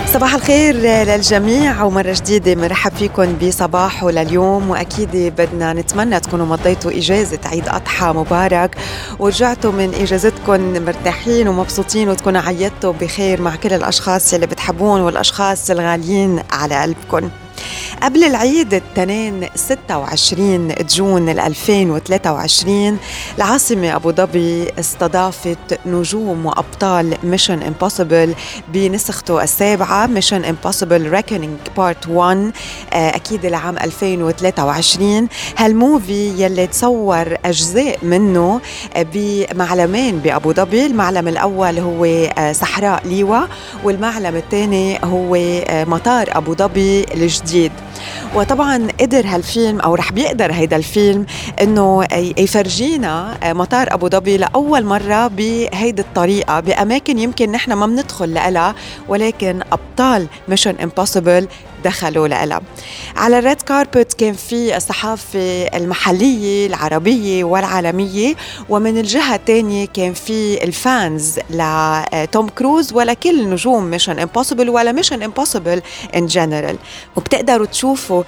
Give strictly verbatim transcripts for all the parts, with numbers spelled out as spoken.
صباح الخير للجميع ومرة جديدة مرحب فيكم بصباحه لليوم، وأكيد بدنا نتمنى تكونوا مضيتوا إجازة عيد أضحى مبارك ورجعتوا من إجازتكم مرتاحين ومبسوطين، وتكونوا عيدتوا بخير مع كل الأشخاص اللي بتحبون والأشخاص الغاليين على قلبكم. قبل العيد التنين ستة وعشرين جون ألفين وثلاثة وعشرين العاصمة أبو ظبي استضافت نجوم وأبطال ميشن امبوسيبل بنسخته السابعة ميشن امبوسيبل ريكونينج بارت واحد، أكيد العام ألفين وثلاثة وعشرين. هالموفي يلي تصور أجزاء منه بمعلمين بأبو ظبي، المعلم الأول هو صحراء ليوا والمعلم الثاني هو مطار أبو ظبي الجديد. وطبعا قدر هالفيلم أو رح بيقدر هيدا الفيلم إنه يفرجينا مطار أبو ظبي لأول مرة بهيدي الطريقة بأماكن يمكن نحن ما بندخل لها، ولكن أبطال ميشن امبوسيبل دخلوا لها. على الريد كاربت كان في الصحافة المحلية العربية والعالمية، ومن الجهة الثانية كان في الفانز لتوم كروز ولكل نجوم ميشن امبوسيبل ولا ميشن امبوسيبل ان جنرال. وبتقدروا تشوفوا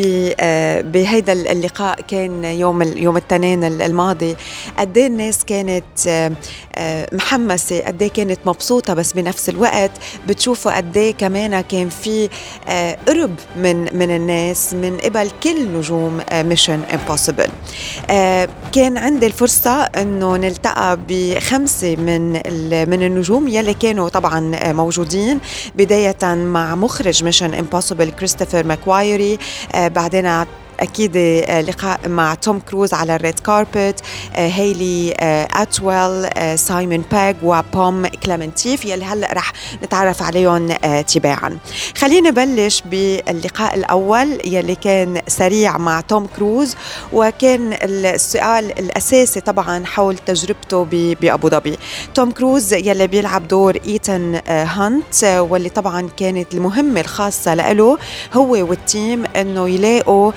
بهيدا اللقاء كان يوم يوم الاثنين الماضي قد ايه الناس كانت محمسة، قد ايه كانت مبسوطة، بس بنفس الوقت بتشوفوا قد ايه كمان كان في قرب من من الناس من قبل كل نجوم ميشن امبوسيبل. كان عندي الفرصة انه نلتقى بخمسة من من النجوم يلي كانوا طبعا موجودين، بداية مع مخرج ميشن امبوسيبل كريستوفر ماكوايري، بعدين أكيد لقاء مع توم كروز على الريد كاربت، هيلي أتويل، سايمون باغ وبوم كليمنتيف يلي هلأ رح نتعرف عليهم تباعا. خلينا نبلش باللقاء الأول يلي كان سريع مع توم كروز، وكان السؤال الأساسي طبعا حول تجربته بأبو ظبي. توم كروز يلي بيلعب دور إيتان هانت، واللي طبعا كانت المهمة الخاصة له هو والتيم أنه يلاقوا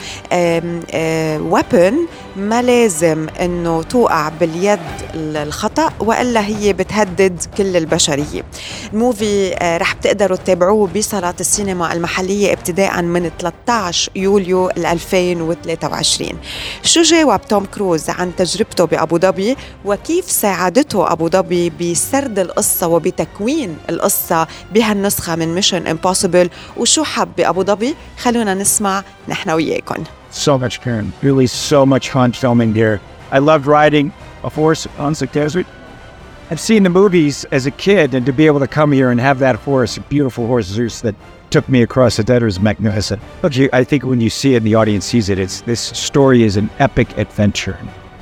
ويبن ما لازم انه توقع باليد الخطأ والا هي بتهدد كل البشرية. الموفي رح بتقدروا تتابعوه بصالات السينما المحلية ابتداء من ثلاثة عشر يوليو ألفين وثلاثة وعشرين. شو جاوب توم كروز عن تجربته بأبو ظبي وكيف ساعدته أبو ظبي بسرد القصة وبتكوين القصة بهالنسخة من ميشن امبوسيبل، وشو حب بأبو ظبي؟ خلونا نسمع نحن وياكم. So much, Karen. Really so much fun filming here. I loved riding a horse on the desert. I've seen the movies as a kid, and to be able to come here and have that horse, a beautiful horse Zeus that took me across the desert is magnificent. Look, you, I think when you see it and the audience sees it, it's this story is an epic adventure.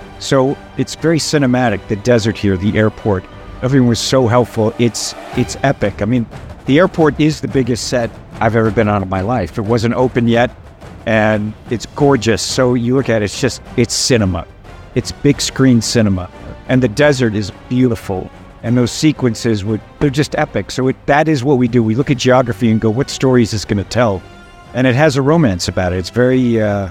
So it's very cinematic, the desert here, the airport. Everyone was so helpful. It's it's epic. I mean, the airport is the biggest set I've ever been on in my life. It wasn't open yet. And it's gorgeous. So you look at it, it's just, it's cinema. It's big screen cinema. And the desert is beautiful. And those sequences, would they're just epic. So it, that is what we do. We look at geography and go, what story is this going to tell? And it has a romance about it. It's very, uh,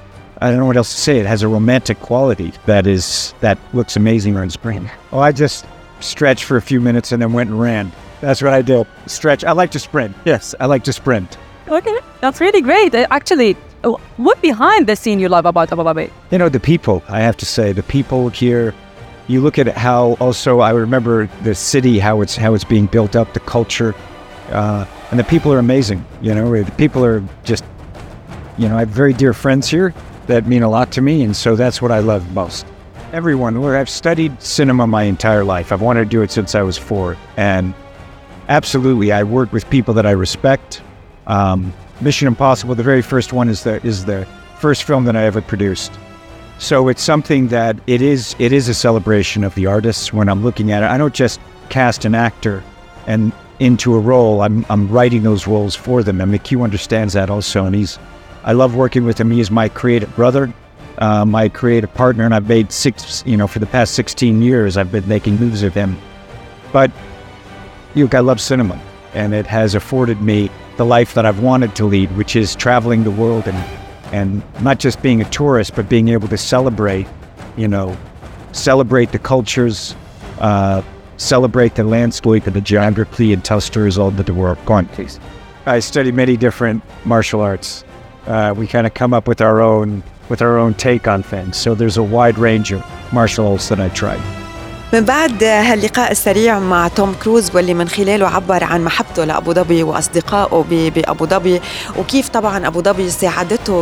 I don't know what else to say. It has a romantic quality that is, that looks amazing on screen. Oh, I just stretched for a few minutes and then went and ran. That's what I did. Stretch. I like to sprint. Yes, I like to sprint. Okay, that's really great. Actually, what behind the scene you love about Abu Dhabi? You know, the people, I have to say, the people here. You look at how also, I remember the city, how it's how it's being built up, the culture, uh, and the people are amazing. You know, the people are just, you know, I have very dear friends here that mean a lot to me, and so that's what I love most. Everyone, where I've studied cinema my entire life. I've wanted to do it since I was four, and absolutely, I work with people that I respect. Um, Mission Impossible, the very first one, is the is the first film that I ever produced. So it's something that it is it is a celebration of the artists. When I'm looking at it, I don't just cast an actor and into a role. I'm I'm writing those roles for them, and McHugh understands that also. And he's I love working with him. He is my creative brother, uh, my creative partner, and I've made six. You know, for the past sixteen years, I've been making movies with him. But look, I love cinema, and it has afforded me the life that I've wanted to lead, which is traveling the world and and not just being a tourist, but being able to celebrate, you know, celebrate the cultures, uh, celebrate the landscape and the geography and tell stories all over the world. Go on, please. I study many different martial arts. Uh, we kind of come up with our own with our own take on things. So there's a wide range of martial arts that I tried. من بعد هاللقاء السريع مع توم كروز واللي من خلاله عبر عن محبته لأبو ظبي وأصدقائه بأبو ظبي، وكيف طبعا أبو ظبي ساعدته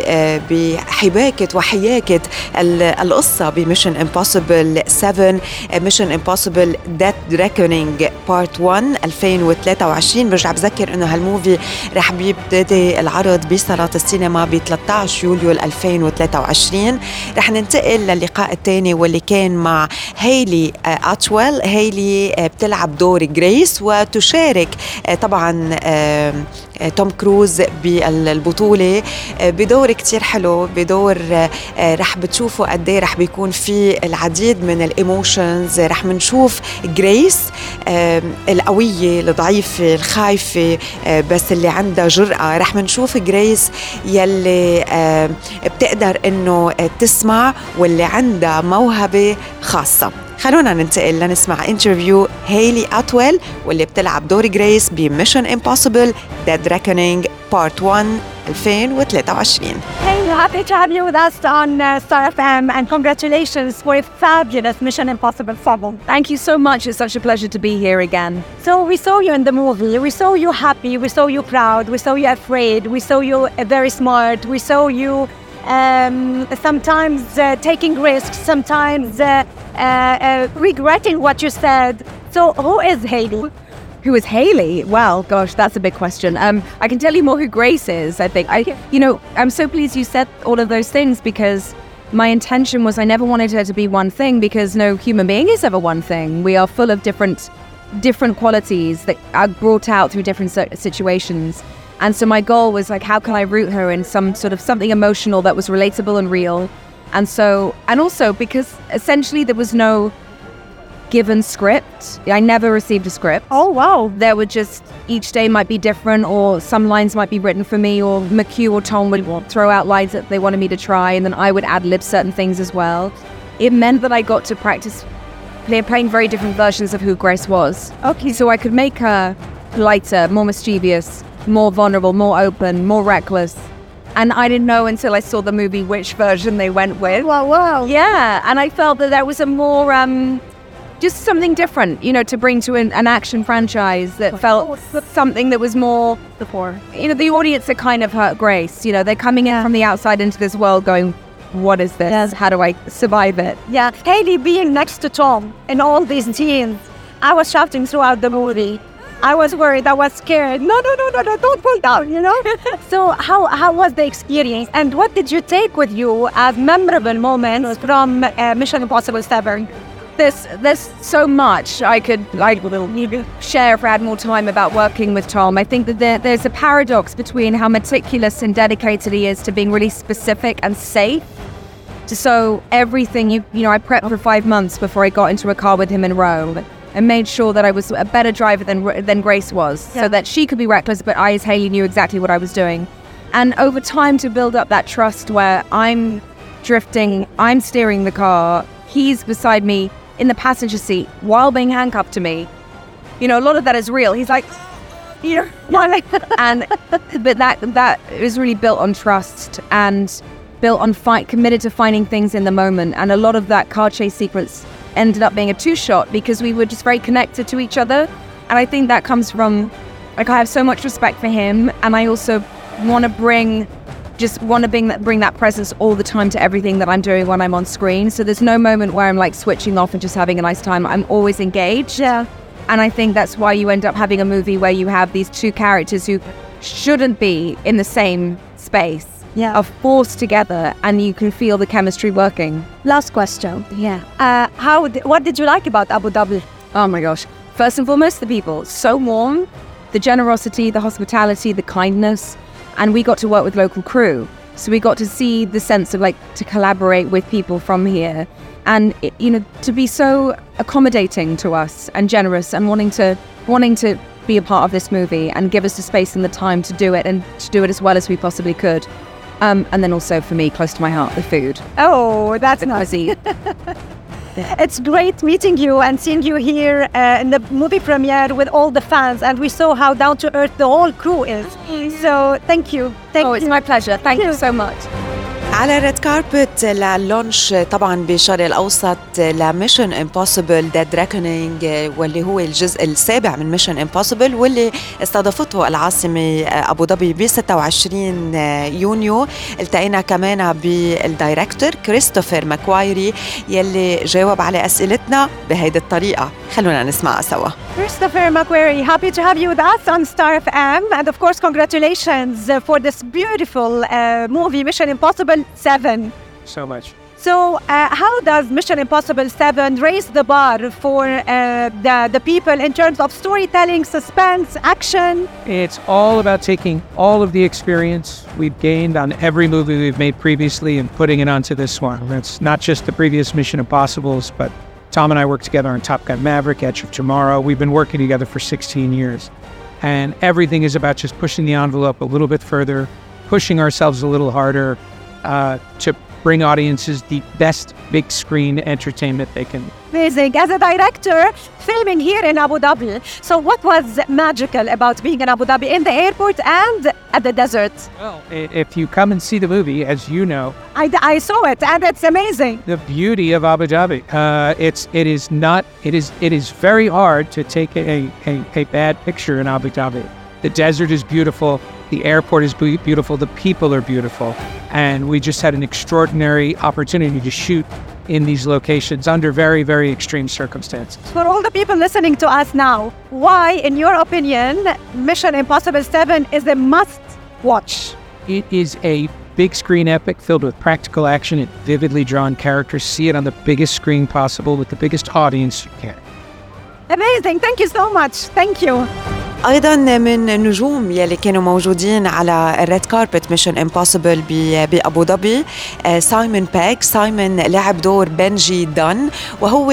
بحباكة وحياكة القصة بميشن امبوسيبل سفن، ميشن امبوسيبل ديث ريكونينج بارت واحد ألفين وثلاثة وعشرين. برجع بذكر إنه هالموفي رح بيبتدي العرض بصالات السينما ب ثلاثة عشر يوليو ألفين وثلاثة وعشرين. رح ننتقل للقاء الثاني واللي كان مع هايلي أتويل. هايلي بتلعب دور غريس وتشارك طبعا توم كروز بالبطولة بدور كتير حلو، بدور رح بتشوفوا قديه رح بيكون في العديد من الإيموشنز. رح منشوف غريس القوية الضعيفة الخايفة بس اللي عندها جرأة، رح منشوف غريس يلي بتقدر إنه تسمع واللي عندها موهبة خاصة. خلونا ننتقل لنسمع انترفيو هايلي أتويل واللي بتلعب دور غريس بميشن امبوسيبل ديد ريكونينج بارت واحد ألفين وثلاثة وعشرين. Hey, happy to have you with us on uh, Star F M, and congratulations for a fabulous Mission Impossible film. Thank you so much. It's such a pleasure to be here again. So we saw you in the movie. We saw you happy. We saw you proud. We saw you afraid. We saw you uh, very smart. We saw you um, sometimes uh, taking risks, sometimes uh, uh, uh, regretting what you said. So who is Hailey? Who is Hailey? Well, gosh, that's a big question. Um, I can tell you more who Grace is, I think. I, you know, I'm so pleased you said all of those things, because my intention was I never wanted her to be one thing, because no human being is ever one thing. We are full of different different qualities that are brought out through different situations. And so my goal was like, how can I root her in some sort of something emotional that was relatable and real? And so, and also because essentially there was no given script. I never received a script. Oh, wow. There would just, each day might be different, or some lines might be written for me, or McHugh or Tom would throw out lines that they wanted me to try, and then I would ad-lib certain things as well. It meant that I got to practice play, playing very different versions of who Grace was. Okay. So I could make her lighter, more mischievous, more vulnerable, more open, more reckless. And I didn't know until I saw the movie which version they went with. Wow, wow. Yeah, and I felt that that was a more... Um, just something different, you know, to bring to an, an action franchise that felt something that was more before. You know, the audience are kind of hurt Grace. You know, they're coming in yeah. from the outside into this world going, what is this? Yes. How do I survive it? Yeah. Hailey being next to Tom in all these scenes, I was shouting throughout the movie. I was worried, I was scared. No, no, no, no, no, don't pull down, you know? So how how was the experience? And what did you take with you as memorable moments from uh, Mission Impossible seven? There's there's so much I could like share if I had more time about working with Tom. I think that there, there's a paradox between how meticulous and dedicated he is to being really specific and safe. So everything, you you know, I prepped for five months before I got into a car with him in Rome, and made sure that I was a better driver than than Grace was, yeah. so that she could be reckless, but I, as Hailey, knew exactly what I was doing. And over time, to build up that trust where I'm drifting, I'm steering the car, he's beside me in the passenger seat while being handcuffed to me. You know, a lot of that is real. He's like, you know, and but that that is really built on trust and built on fight, committed to finding things in the moment. And a lot of that car chase sequence ended up being a two-shot because we were just very connected to each other. And I think that comes from, like, I have so much respect for him, and I also want to bring. just want to bring that, bring that presence all the time to everything that I'm doing when I'm on screen. So there's no moment where I'm like switching off and just having a nice time. I'm always engaged. Yeah. And I think that's why you end up having a movie where you have these two characters who shouldn't be in the same space. Yeah. Are forced together, and you can feel the chemistry working. Last question. Yeah. Uh, how? Th- what did you like about Abu Dhabi? Oh my gosh. First and foremost, the people. So warm. The generosity, the hospitality, the kindness. And we got to work with local crew. So we got to see the sense of like to collaborate with people from here. And, it, you know, to be so accommodating to us and generous and wanting to wanting to be a part of this movie and give us the space and the time to do it and to do it as well as we possibly could. Um, and then also for me, close to my heart, the food. Oh, that's nice. It's great meeting you and seeing you here uh, in the movie premiere with all the fans, and we saw how down to earth the whole crew is. So thank you. Thank oh, you. it's my pleasure. Thank you so much. على ريد كاربت للونش طبعا بالشرق الاوسط لميشن امبوسيبل ديد ريكونينج، واللي هو الجزء السابع من ميشن امبوسيبل، واللي استضافته العاصمه ابو ظبي ب ستة وعشرين يونيو. التقينا كمان بالدايركتور كريستوفر ماكوايري يلي جاوب على اسئلتنا بهيدي الطريقه. خلونا نسمعها سوا. Christopher McQuarrie, happy to have you with us on Star F M, and of course congratulations for this beautiful uh, movie Mission Impossible seven. So much. So uh, how does Mission Impossible seven raise the bar for uh, the, the people in terms of storytelling, suspense, action? It's all about taking all of the experience we've gained on every movie we've made previously and putting it onto this one. It's not just the previous Mission Impossibles, but Tom and I worked together on Top Gun Maverick, Edge of Tomorrow. We've been working together for sixteen years. And everything is about just pushing the envelope a little bit further, pushing ourselves a little harder uh, to bring audiences the best big screen entertainment they can. Amazing. As a director, filming here in Abu Dhabi, so what was magical about being in Abu Dhabi, in the airport and at the desert? Well, if you come and see the movie, as you know, I, I saw it and it's amazing. the beauty of Abu Dhabi, uh, it's it is not it is it is very hard to take a, a, a bad picture in Abu Dhabi. The desert is beautiful. The airport is beautiful. The people are beautiful. And we just had an extraordinary opportunity to shoot in these locations under very, very extreme circumstances. For all the people listening to us now, why, in your opinion, Mission Impossible seven is a must watch? It is a big screen epic filled with practical action and vividly drawn characters. See it on the biggest screen possible with the biggest audience you can. Amazing. Thank you so much. Thank you. ايضا من النجوم يلي كانوا موجودين على الريد كاربت ميشن امبوسيبل بابو ظبي سايمون باك. سايمون لعب دور بنجي دان، وهو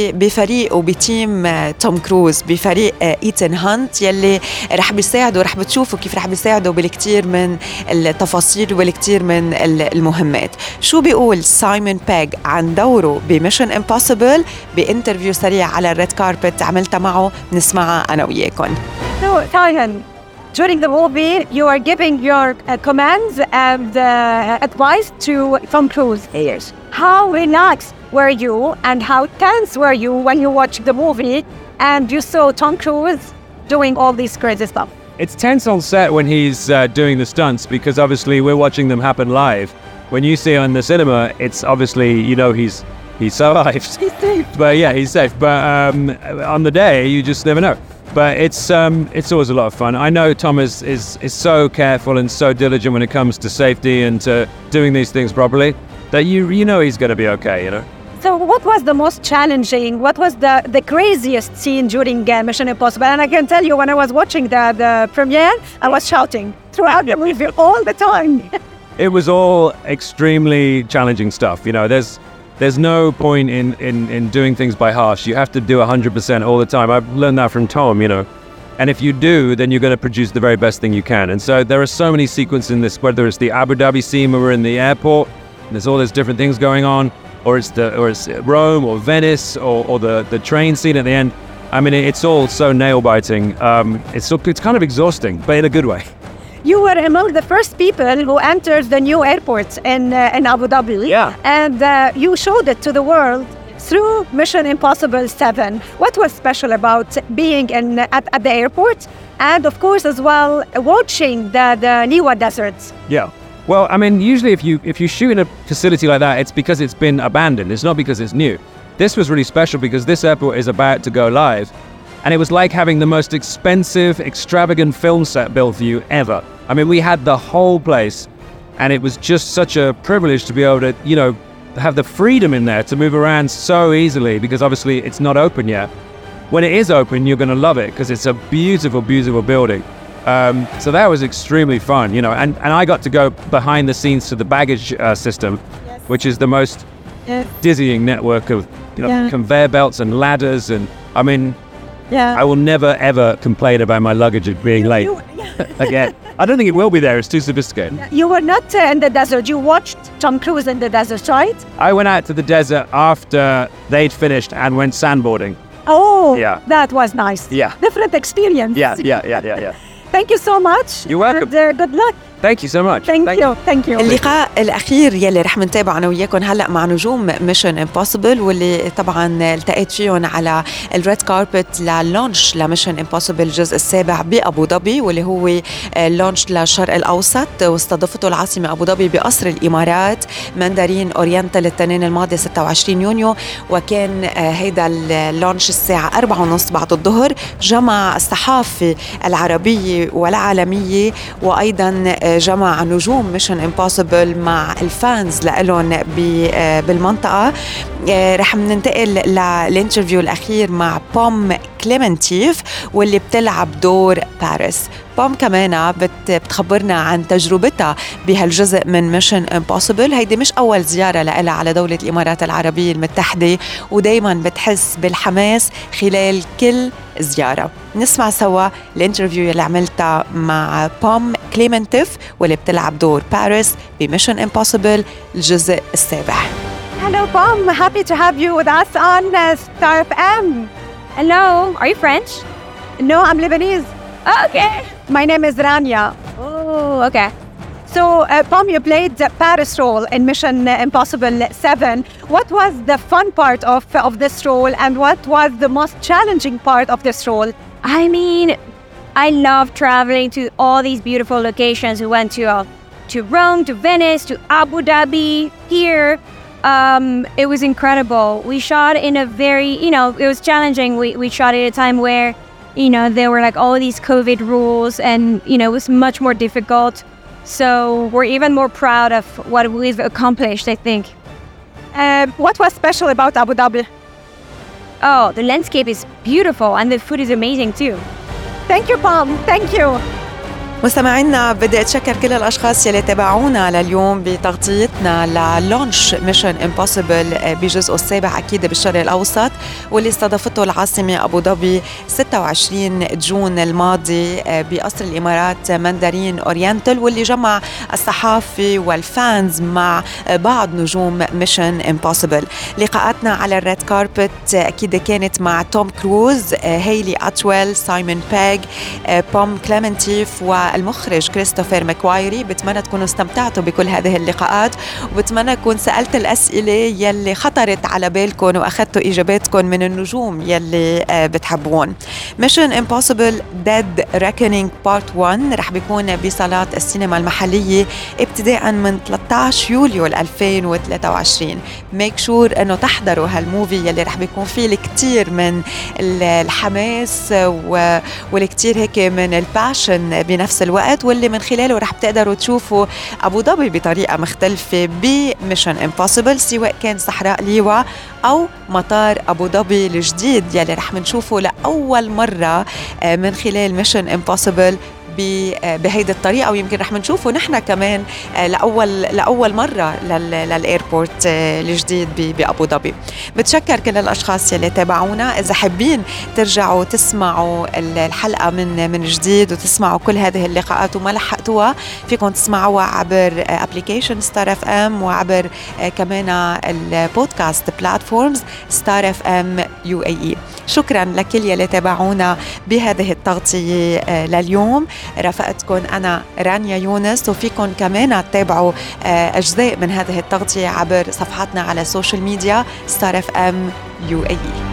بفريق وبتيم توم كروز، بفريق ايتن هانت يلي رح بيساعدوا، رح بتشوفوا كيف رح بيساعدوا بالكثير من التفاصيل والكثير من المهمات. شو بيقول سايمون باك عن دوره بميشن امبوسيبل بانترفيو سريع على الريد كاربت عملتها معه، نسمعها انا وياكم. So, Taihan, during the movie, you are giving your uh, commands and uh, advice to Tom Cruise. Yes. How relaxed were you and how tense were you when you watched the movie and you saw Tom Cruise doing all these crazy stuff? It's tense on set when he's uh, doing the stunts because obviously we're watching them happen live. When you see it in the cinema, it's obviously, you know, he's he's survived. He's safe. But yeah, he's safe. But um, on the day, you just never know. But it's um, it's always a lot of fun. I know Tom is, is, is so careful and so diligent when it comes to safety and to doing these things properly that you you know he's going to be okay, you know. So what was the most challenging, what was the, the craziest scene during uh, Mission Impossible? And I can tell you when I was watching the, the premiere, I was shouting throughout the movie all the time. It was all extremely challenging stuff. You know, there's there's no point in, in, in doing things by half. You have to do one hundred percent all the time. I've learned that from Tom, you know. And if you do, then you're going to produce the very best thing you can. And so there are so many sequences in this, whether it's the Abu Dhabi scene where we're in the airport, and there's all these different things going on, or it's the or it's Rome or Venice or, or the, the train scene at the end. I mean, it's all so nail-biting. Um, it's, it's kind of exhausting, but in a good way. You were among the first people who entered the new airport in uh, in Abu Dhabi. Yeah. And uh, you showed it to the world through Mission Impossible seven. What was special about being in at, at the airport and of course as well watching the, the Niwa deserts? Yeah. Well, I mean, usually if you if you shoot in a facility like that, it's because it's been abandoned. It's not because it's new. This was really special because this airport is about to go live. And it was like having the most expensive, extravagant film set built for you ever. I mean, we had the whole place, and it was just such a privilege to be able to, you know, have the freedom in there to move around so easily because obviously it's not open yet. When it is open, you're going to love it because it's a beautiful, beautiful building. Um, so that was extremely fun, you know, and, and I got to go behind the scenes to the baggage uh, system, yes. which is the most yes. dizzying network of, you know, yeah. conveyor belts and ladders. And I mean, Yeah. I will never ever complain about my luggage being late You, yeah. again. I don't think it will be there. It's too sophisticated. You were not uh, in the desert. You watched Tom Cruise in the desert, right? I went out to the desert after they'd finished and went sandboarding. Oh, Yeah. that was nice. Yeah. Different experience. Yeah, yeah, yeah, yeah, yeah. Thank you so much. You're welcome. And, uh, good luck. Thank you so much. Thank, you. Thank you. اللقاء الأخير يلي رح منتابعه أنا وياكم هلأ مع نجوم ميشن امبوسيبل، واللي طبعا التقيت فيهم على الريد كاربت للونش لميشن امبوسيبل الجزء السابع بأبو ظبي، واللي هو اللونش للشرق الأوسط، واستضافته العاصمة أبو ظبي بقصر الإمارات ماندارين أورينتال الاثنين الماضي ستة وعشرين يونيو. وكان هيدا اللونش الساعة أربعة ونص بعد الظهر، جمع الصحافة العربية والعالمية، وأيضا جمع نجوم ميشن امبوسيبل مع الفانز لهم بالمنطقة. رح ننتقل للانترفيو الأخير مع بوم كليمنتيف واللي بتلعب دور باريس. بوم كمان بتخبرنا عن تجربتها بهالجزء من ميشن امبوسيبل. هيدي مش أول زيارة لها على دولة الإمارات العربية المتحدة، ودايما بتحس بالحماس خلال كل زيارة. نسمع سوا الانترفيو اللي عملتها مع بوم كليمنتيف واللي بتلعب دور باريس بميشن امبوسيبل الجزء السابع. Hello, Pom. Happy to have you with us on uh, Star F M. Hello, are you French? No, I'm Lebanese. Oh, okay. My name is Rania. Oh, okay. So, uh, Pom, you played the Paris role in Mission Impossible seven. What was the fun part of, of this role, and what was the most challenging part of this role? I mean, I love traveling to all these beautiful locations. We went to uh, to Rome, to Venice, to Abu Dhabi, here. Um, it was incredible. We shot in a very, you know, it was challenging. We, we shot at a time where, you know, there were like all these COVID rules and, you know, it was much more difficult. So we're even more proud of what we've accomplished, I think. Uh, what was special about Abu Dhabi? Oh, the landscape is beautiful and the food is amazing too. Thank you, Pom. Thank you. مستمعينا، بدي أتشكر كل الأشخاص يلي تابعونا لليوم بتغطيتنا للونش ميشن امبوسيبل بجزء السابع أكيد بالشرق الأوسط، واللي استضافته العاصمة أبو ظبي ستة وعشرين جون الماضي بقصر الإمارات ماندارين أورينتال، واللي جمع الصحافة والفانز مع بعض نجوم ميشن امبوسيبل. لقاءاتنا على الريد كاربت أكيد كانت مع توم كروز، هيلي أتويل، سايمون بيغ، بوم كليمنتيف والمخرج كريستوفر ماكوايري. بتمنى تكونوا استمتعتوا بكل هذه اللقاءات، وبتمنى أكون سألت الأسئلة يلي خطرت على بالكم وأخذتوا إجاباتكم من النجوم يلي بتحبون. Mission Impossible Dead Reckoning Part واحد رح بيكون بصالات السينما المحلية ابتداء من ثلاثة عشر يوليو ألفين وثلاثة وعشرين. ميك شور أنه تحضروا هالموفي يلي رح بيكون فيه الكتير من الحماس والكتير هيك من الباشن بنفس الوقت، واللي من خلاله رح بتقدروا تشوفوا أبو ظبي بطريقة مختلفة بميشن امبوسيبل، سواء كان صحراء ليوا أو مطار أبو ظبي الجديد يلي رح منشوفه لأول مرة من خلال ميشن امبوسيبل بهيدي الطريقة، ويمكن رح منشوفه نحن كمان لأول لأول مرة للإيربورت الجديد بأبو ظبي. بتشكر كل الأشخاص يلي تابعونا. إذا حابين ترجعوا تسمعوا الحلقة من من جديد وتسمعوا كل هذه اللقاءات وما لحقتوها، فيكم تسمعوها عبر أبليكيشن ستار اف ام وعبر كمان البودكاست بلاتفورمز ستار اف ام يو اي اي. شكرا لكل يلي تابعونا بهذه التغطية لليوم. رافقتكم أنا رانيا يونس، وفيكم كمان تتابعوا أجزاء من هذه التغطية عبر صفحاتنا على السوشيال ميديا ستار اف ام يو اي.